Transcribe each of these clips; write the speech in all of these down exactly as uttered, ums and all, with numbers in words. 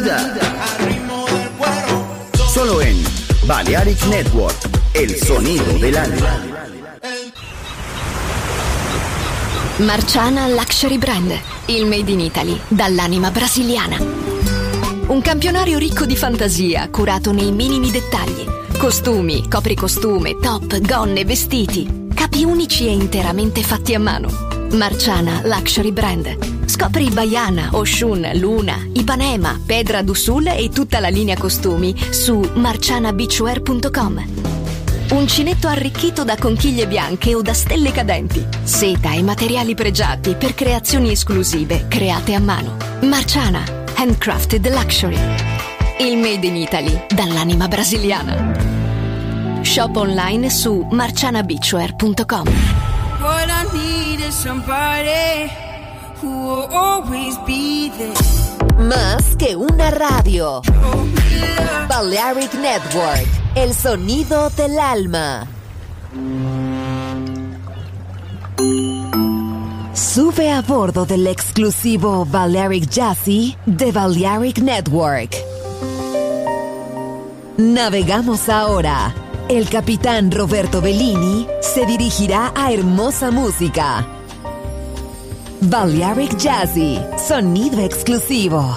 vida. Solo en Balearic Network, el sonido del alma. Marciana Luxury Brand, il made in Italy dall'anima brasiliana. Un campionario ricco di fantasia, curato nei minimi dettagli. Costumi, copricostume, top, gonne, vestiti. Capi unici e interamente fatti a mano. Marciana Luxury Brand. Scopri Baiana, Oshun, Luna, Ipanema, Pedra do Sul e tutta la linea costumi su marciana beachwear punto com. Uncinetto arricchito da conchiglie bianche o da stelle cadenti. Seta e materiali pregiati per creazioni esclusive create a mano. Marciana, handcrafted luxury. Il made in Italy dall'anima brasiliana. Shop online su marciana beachwear punto com. What I need is somebody who will always be there. Más que una radio. Balearic Network, el sonido del alma. Sube a bordo del exclusivo Balearic Jazzy de Balearic Network. Navegamos ahora. El capitán Roberto Bellini se dirigirá a hermosa música. Balearic Jazzy, sonido exclusivo.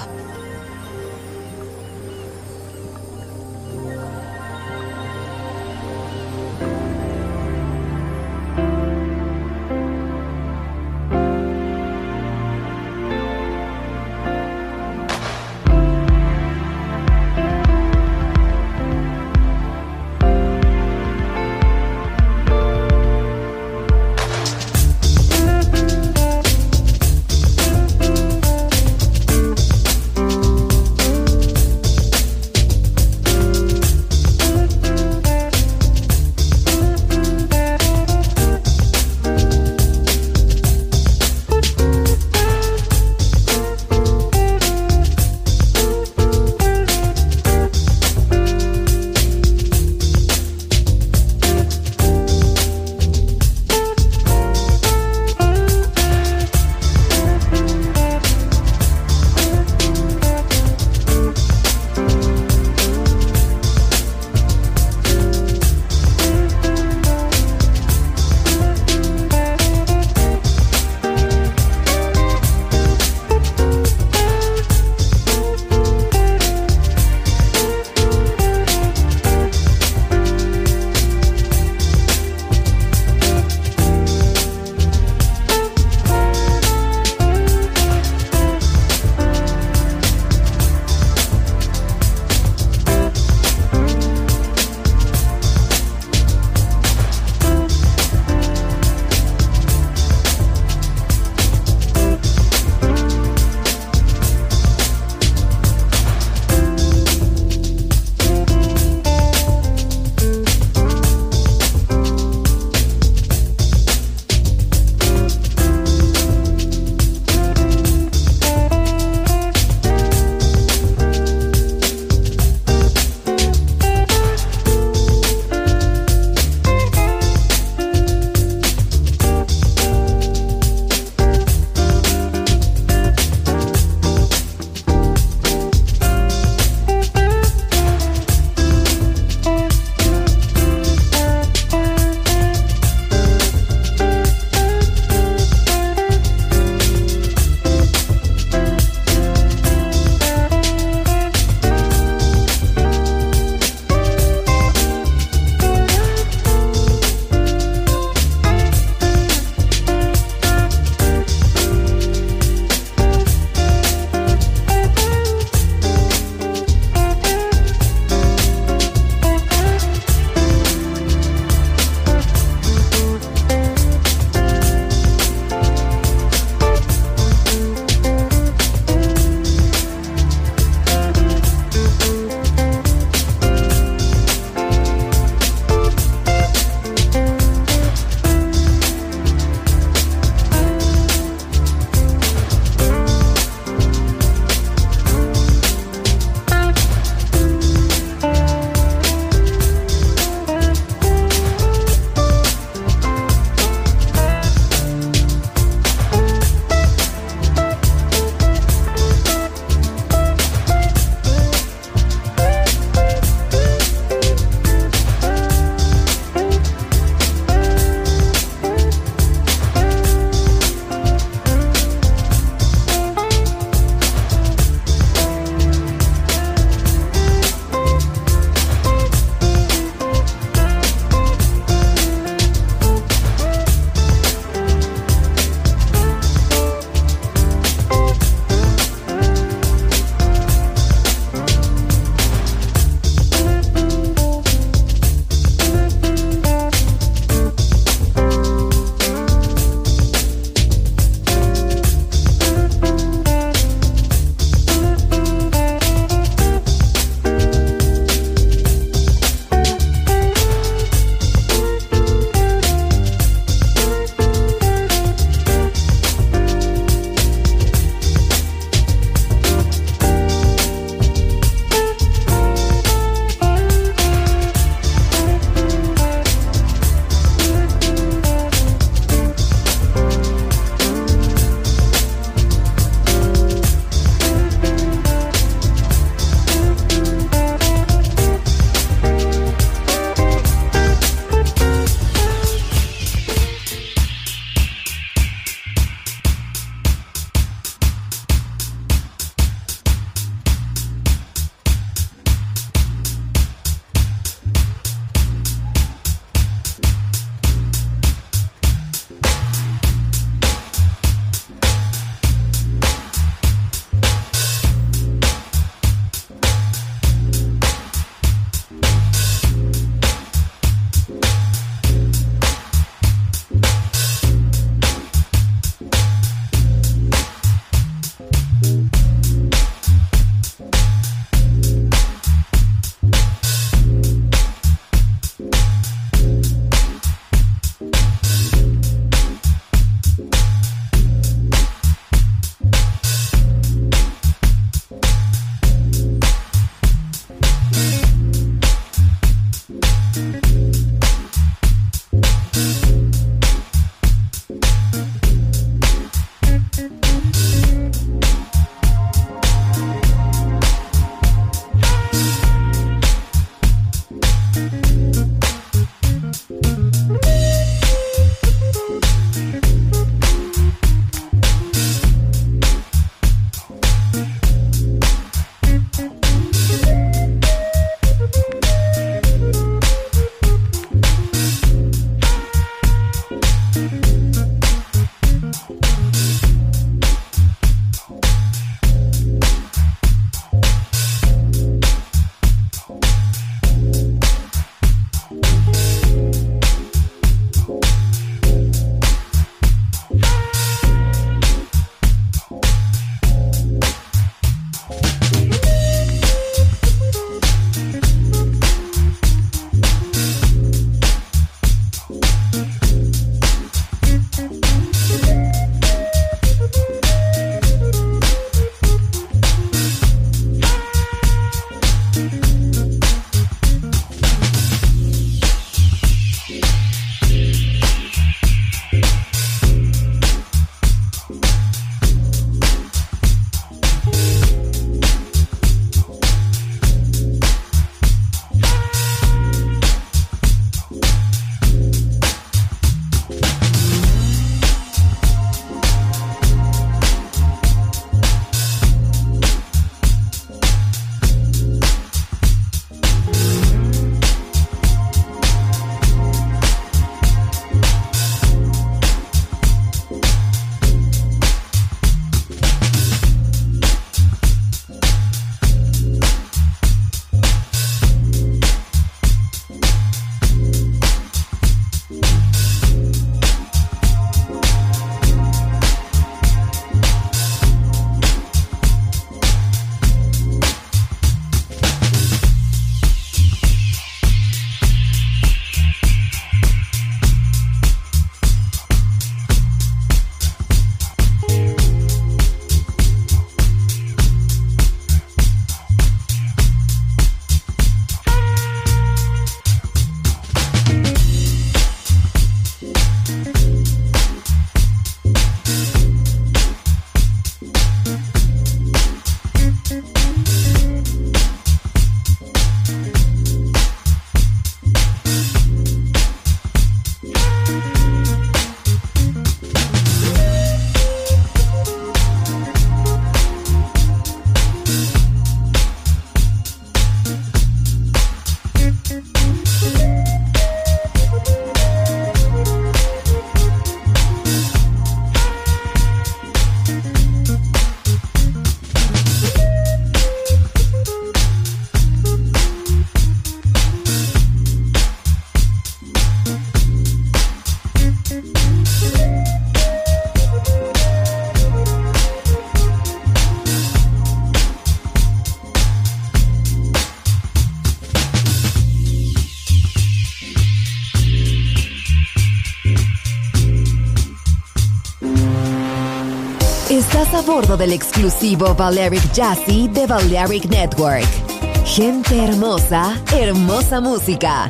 Estás a bordo del exclusivo Balearic Jazzy de Balearic Network. Gente hermosa, hermosa música.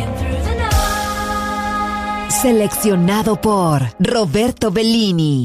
Seleccionado por Roberto Bellini.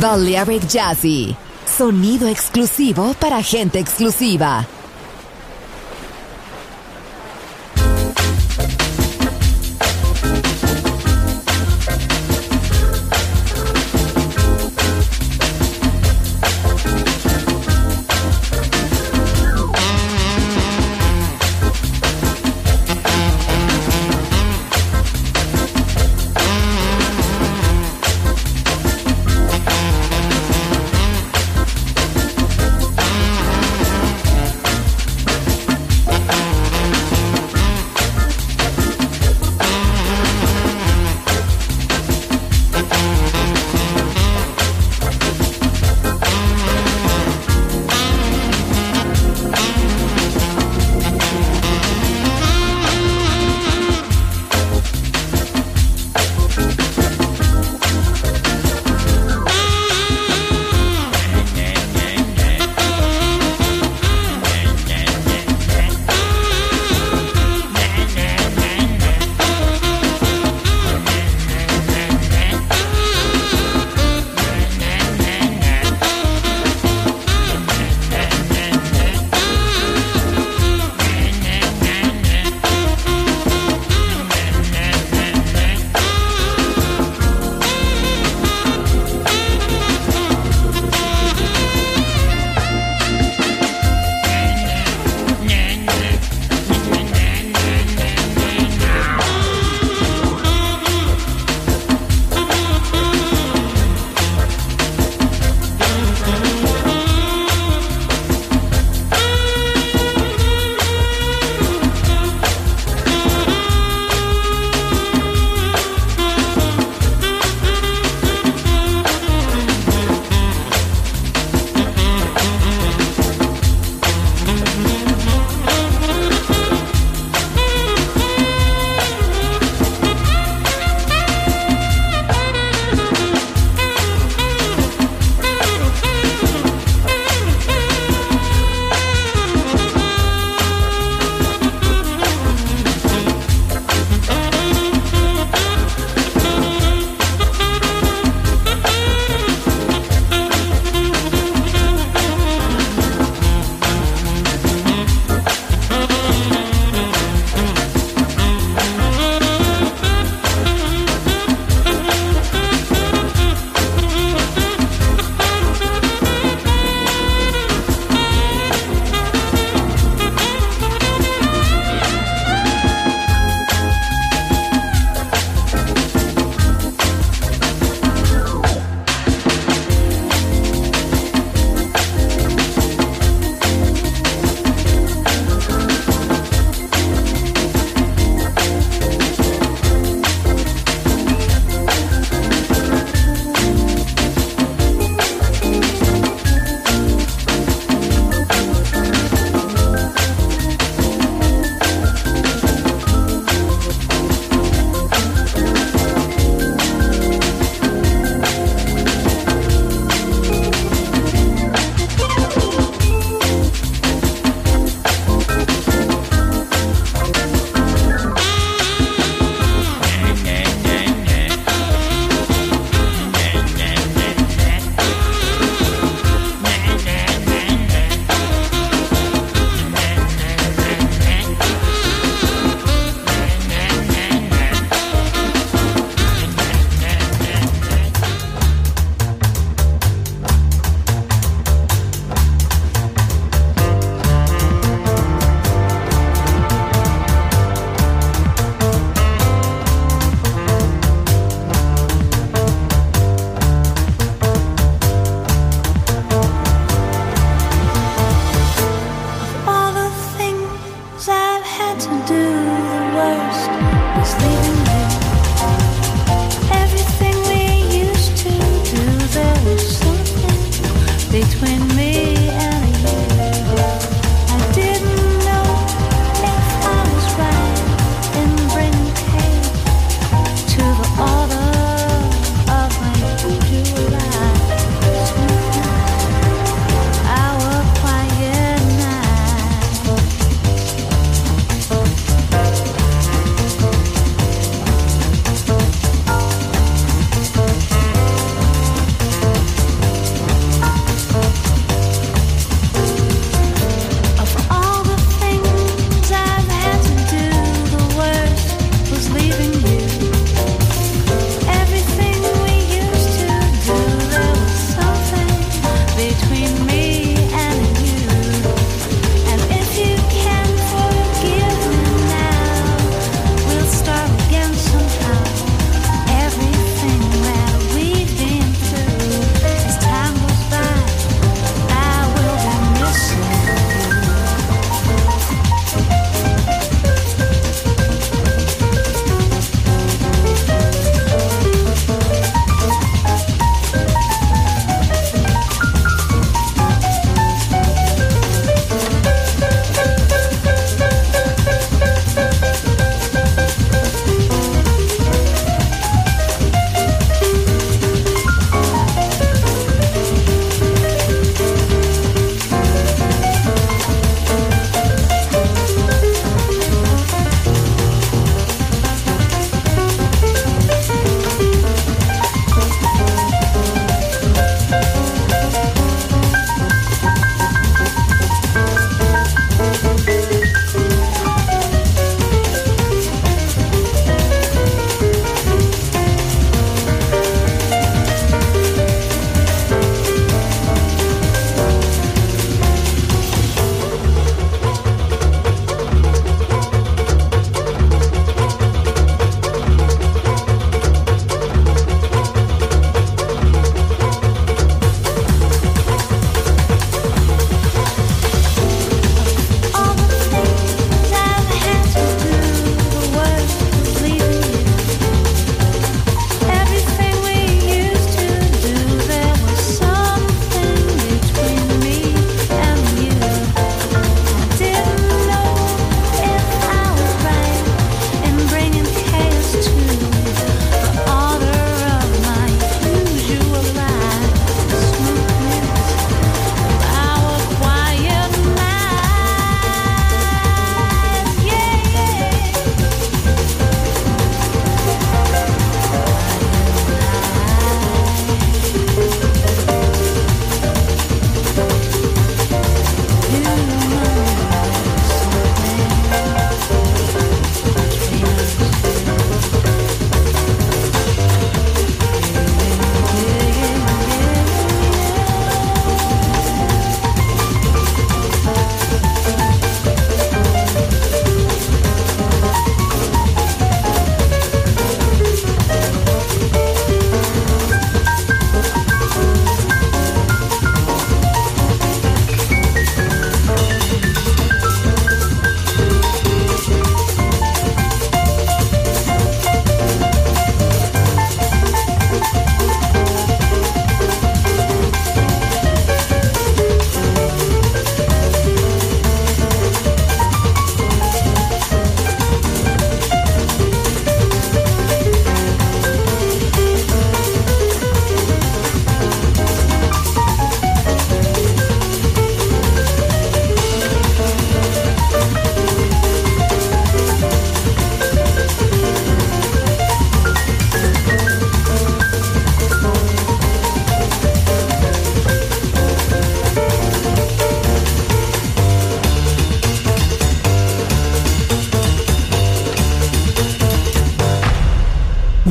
Balearic Jazzy, sonido exclusivo para gente exclusiva.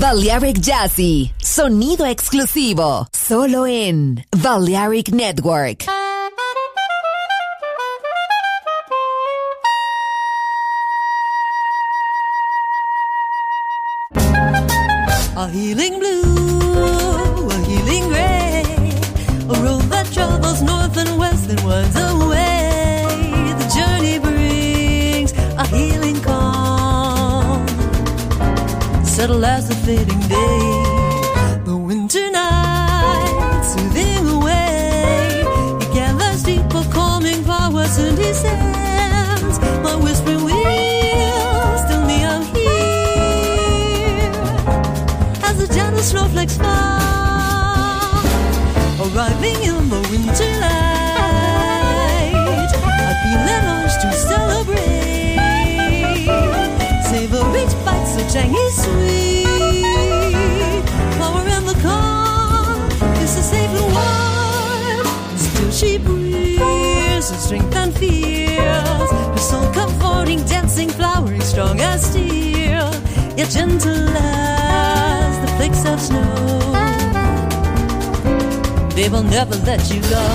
Balearic Jazzy, sonido exclusivo, solo en Balearic Network. A healing blue, a healing gray, a road that travels north and west and winds away. The journey brings a healing calm, settle as the fading day. The winter night soothing away, he gathers deeper calming powers and descends. My whispering wheels tell me I'm here. Snowflakes fall, arriving in the winter light. I feel an urge to celebrate, savor each bite so tangy sweet. Flower in the calm, it's a safe and warm. Still she breathes her strength and feels, her soul comforting, dancing, flowering, strong as steel, yet gentle as the flakes of snow. They will never let you go.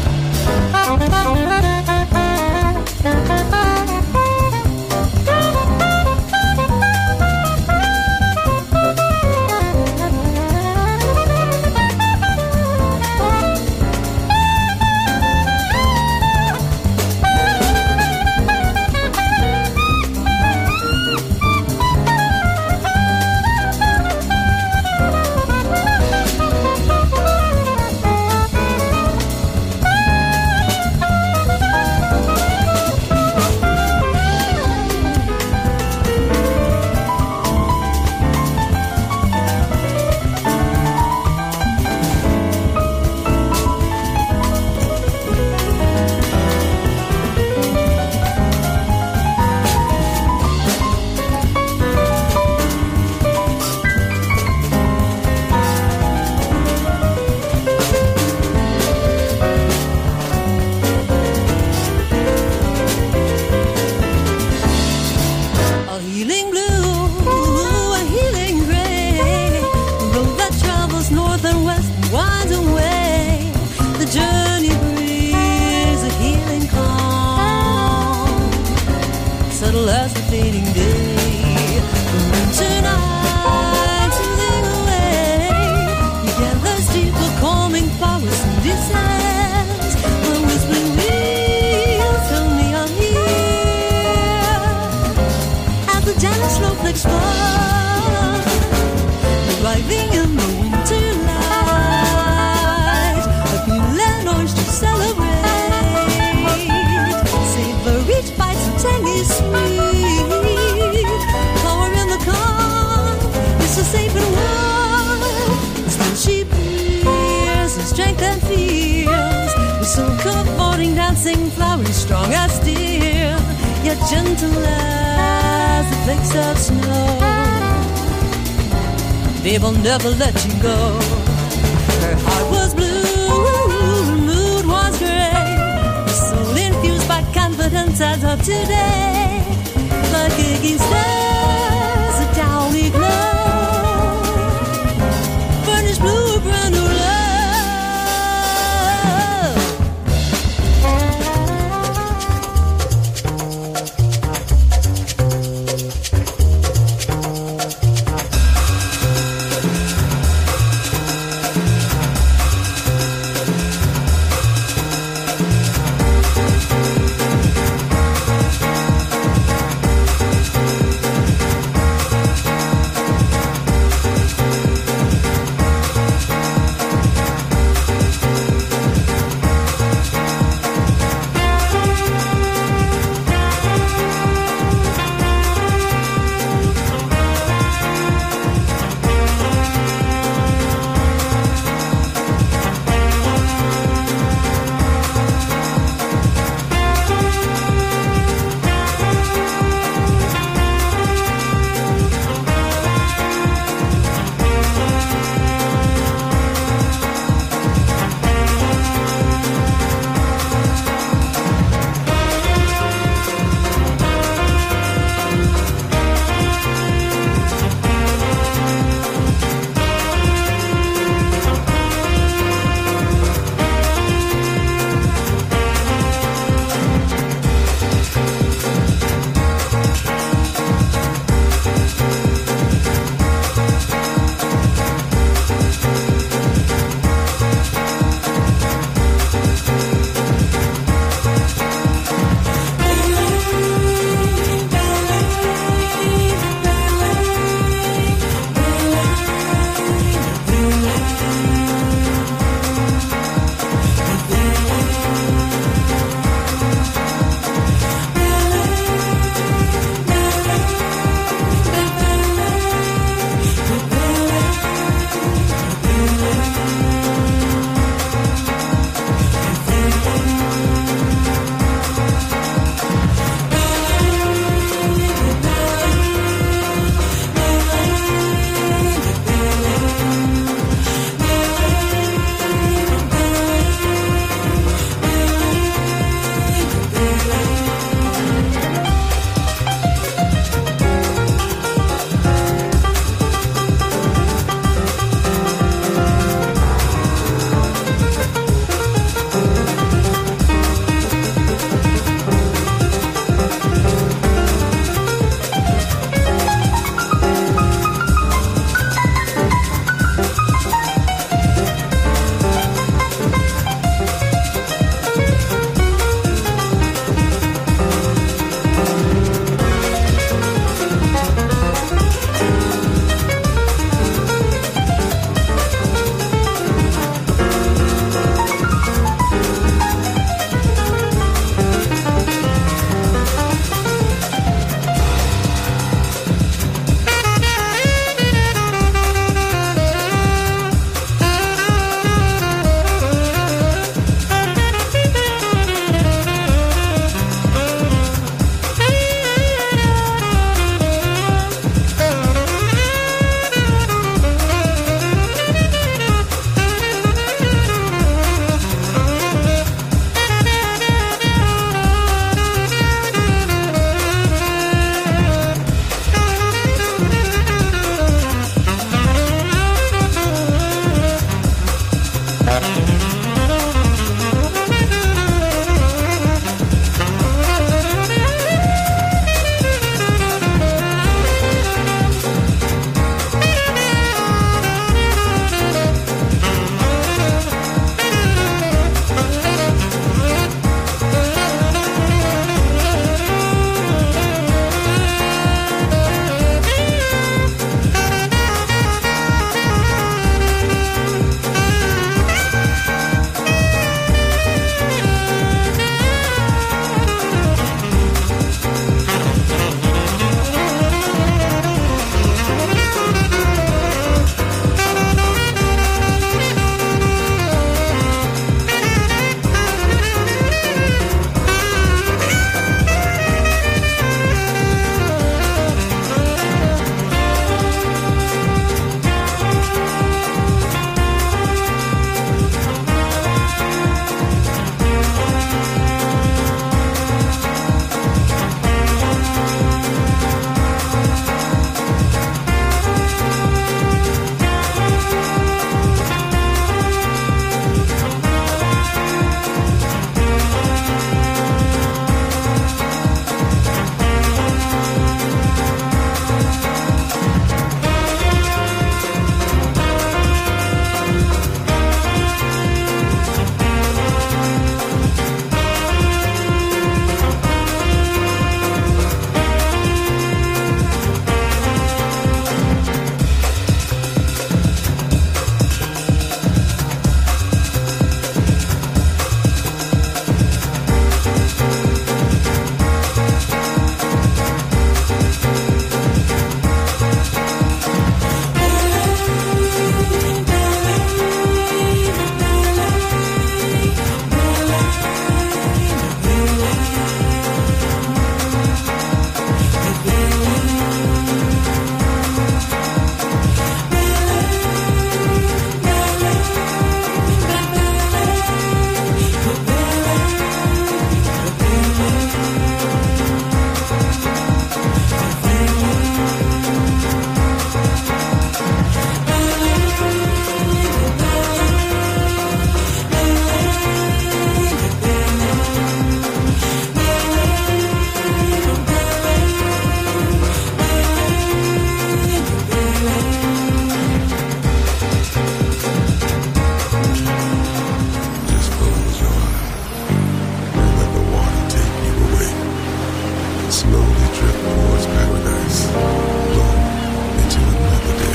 Strong as steel, yet gentle as the flakes of snow. They will never let you go. Her heart was blue, her mood was gray, her soul infused by confidence as of today. Like Iggy stars, a downy glow, burnished blue, a brand new love.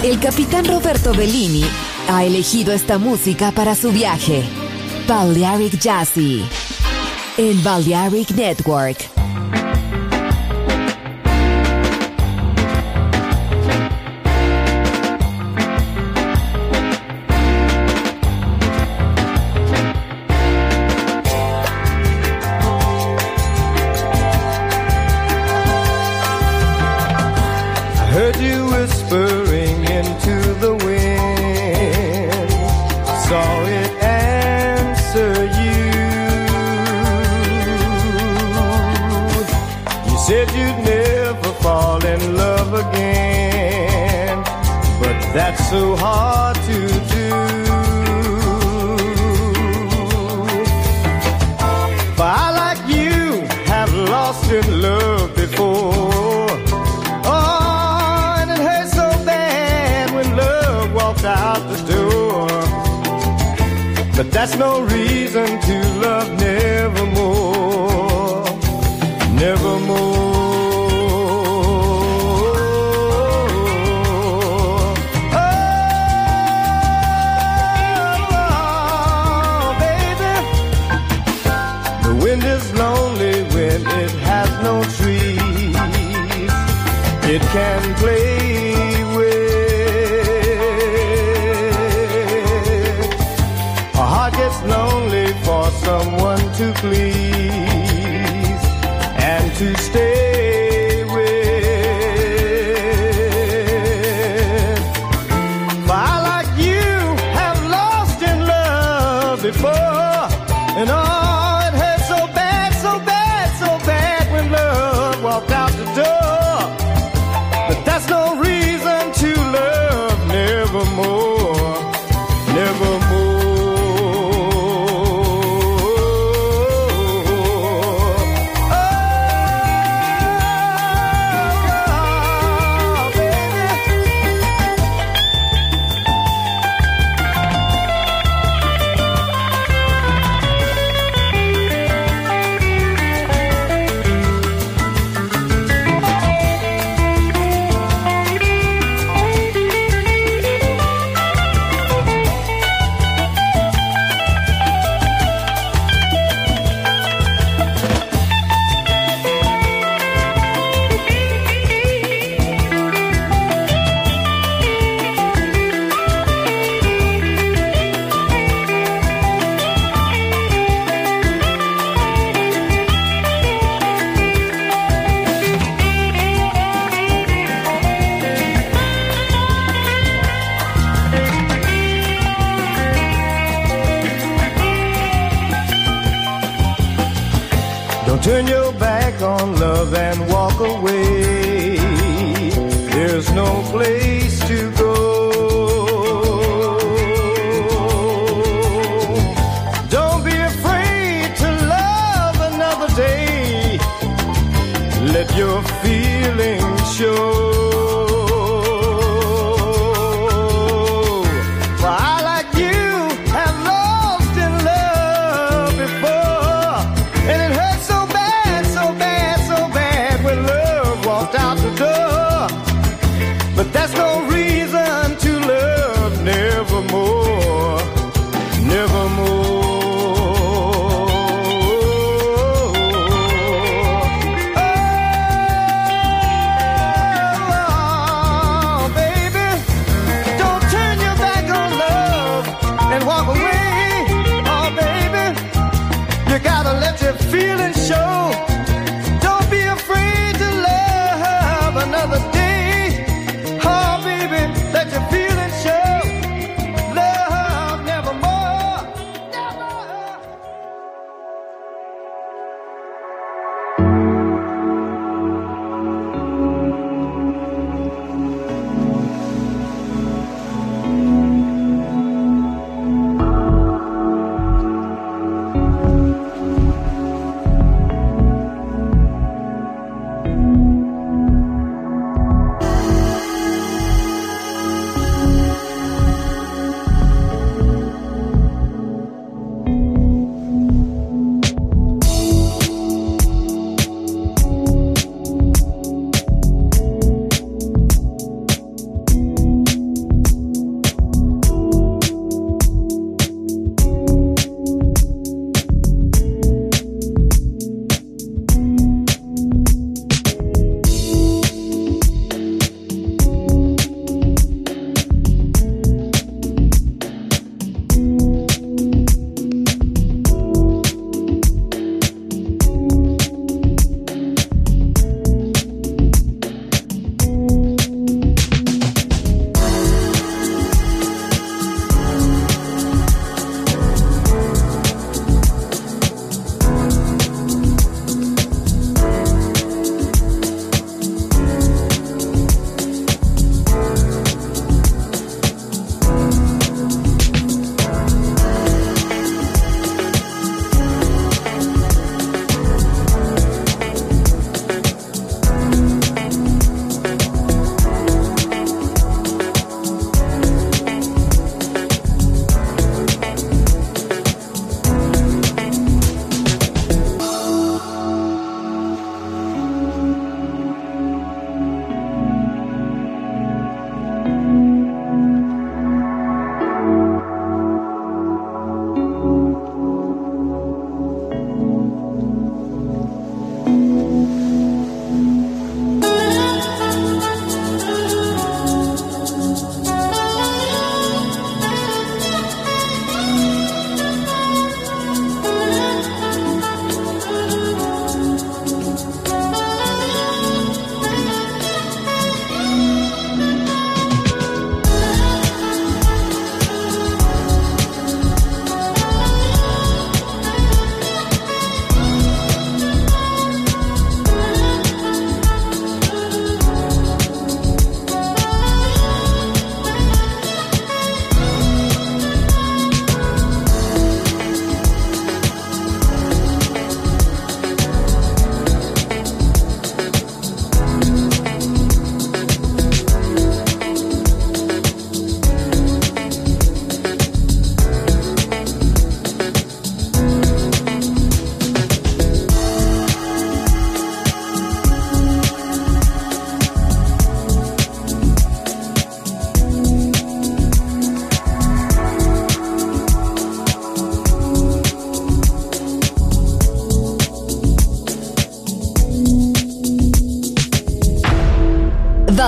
El capitán Roberto Bellini ha elegido esta música para su viaje. Balearic Jazzy en Balearic Network. Heard you whispering into the wind, saw it answer you. You said you'd never fall in love again, but that's so hard to do. For I, like you, have lost in love before. Out the door, but that's no reason to love nevermore, nevermore. Oh, oh, baby, the wind is lonely when it has no trees. It can play lonely for someone to please and to stay with. For I, like you, have lost in love before, and oh, it hurt so bad, so bad, so bad when love walked out the door. But that's no reason to love nevermore, nevermore. Turn your back on love and walk away. There's no place to go. Don't be afraid to love another day. Let your feelings show. But that's no reason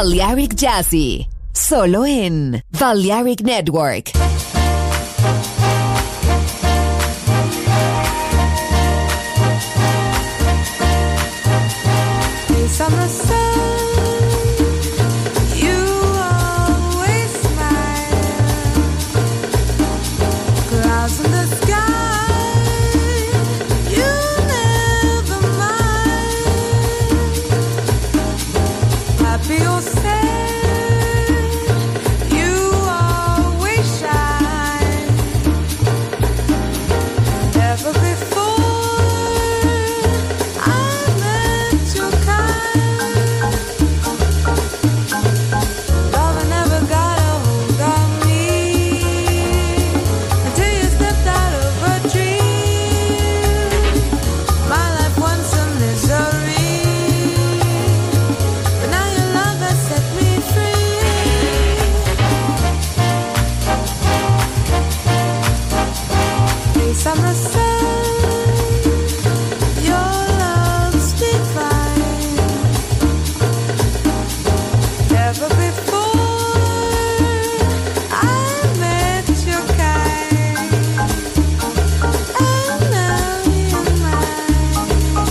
Balearic Jazzy, solo en Balearic Network. Summer sun, you always smile. Clouds in the sky, you never mind. Happy or sad, you always shine. Never before I met your kind. Summer sun, your love's divine. Never before I met your kind, and now you're mine.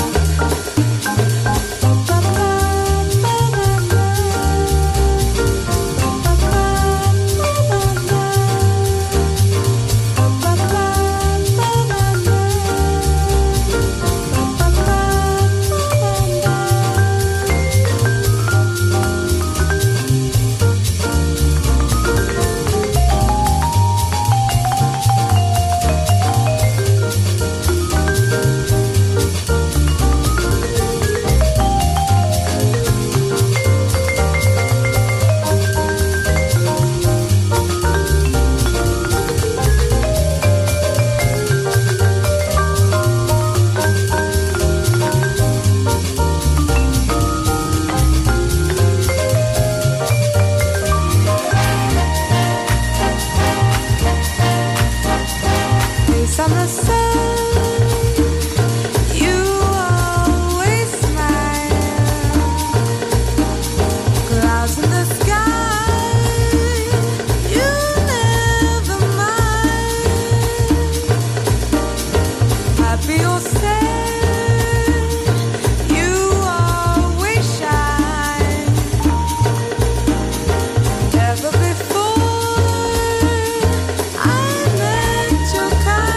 Ba ba ba ba ba, ba ba ba ba ba. Summer sun, you always smile. Clouds in the sky, you never mind. Happy or sad, you always shine. Never before I met your kind.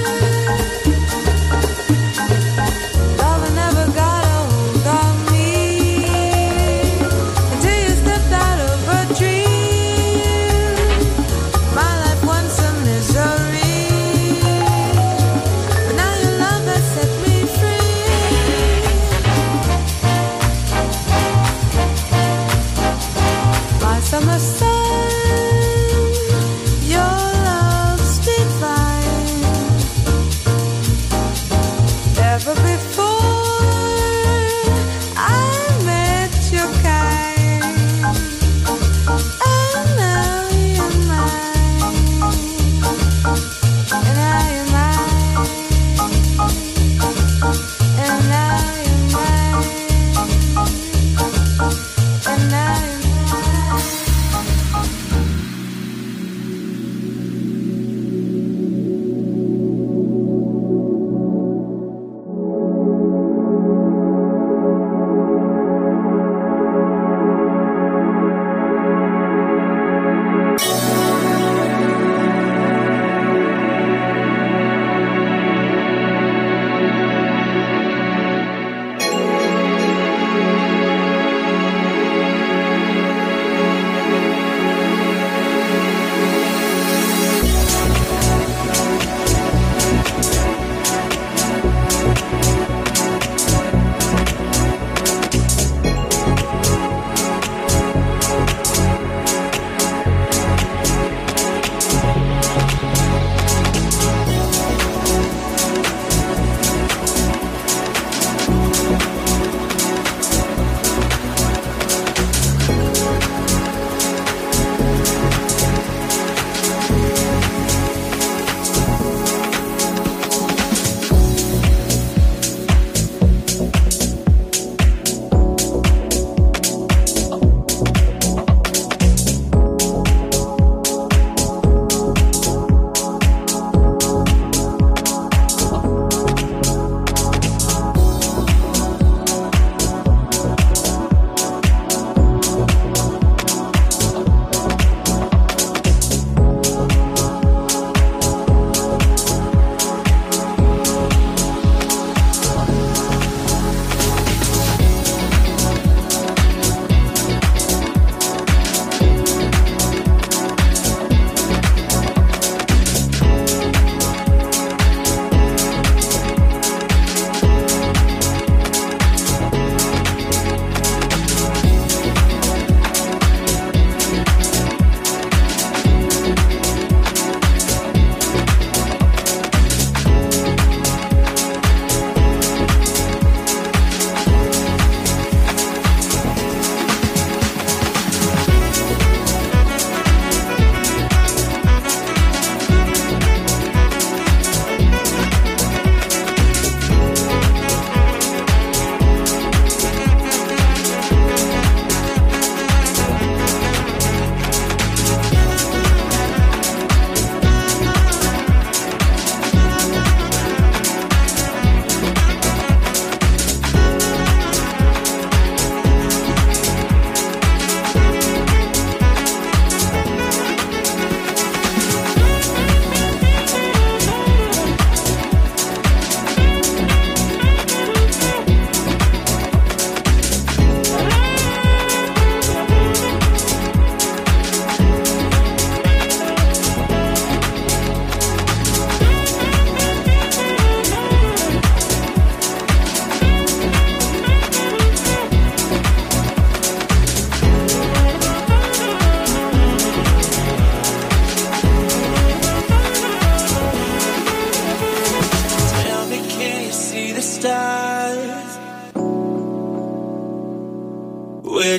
Summer sun, your love's divine. Never before I met your kind, and now you're mine, and now you're mine, and now you're mine, and now you're mine.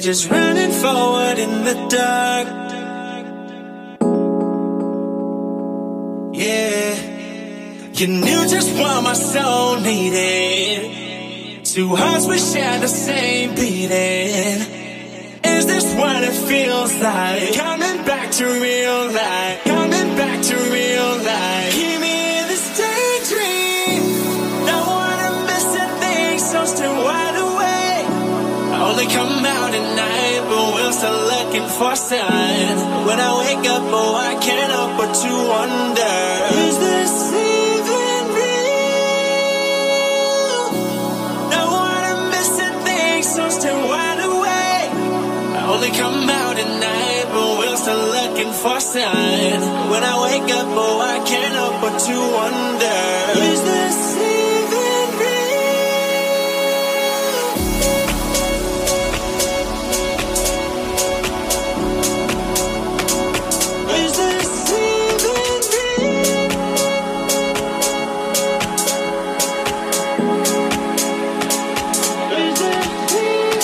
just running forward in the dark. Yeah, you knew just what my soul needed. Two hearts we share the same beating. Is this what it feels like? Coming back to real life. Coming back to real life. Keep me in this daydream. Don't wanna miss a thing, so still wide awake. I only come out at night, but we're still looking for signs. When I wake up, oh, I can't help but to wonder, is this even real? Don't wanna miss a thing, so still wide awake. I only come out at night, but we're still looking for signs. When I wake up, oh, I can't help but to wonder, is this even real? Is this even real? Is this even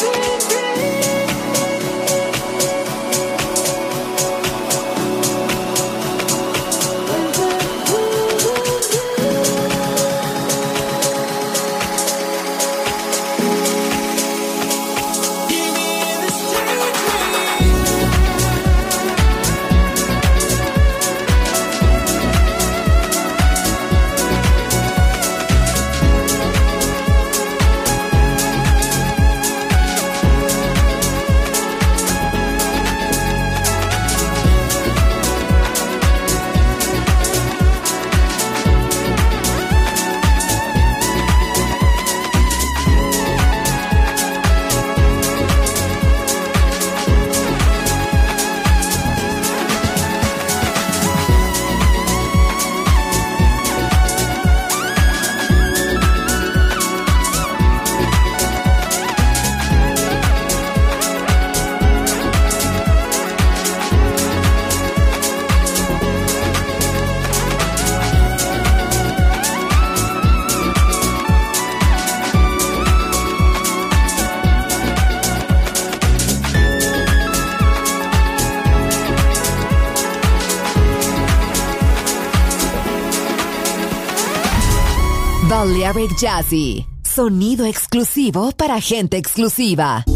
Balearic Jazzy, sonido exclusivo para gente exclusiva.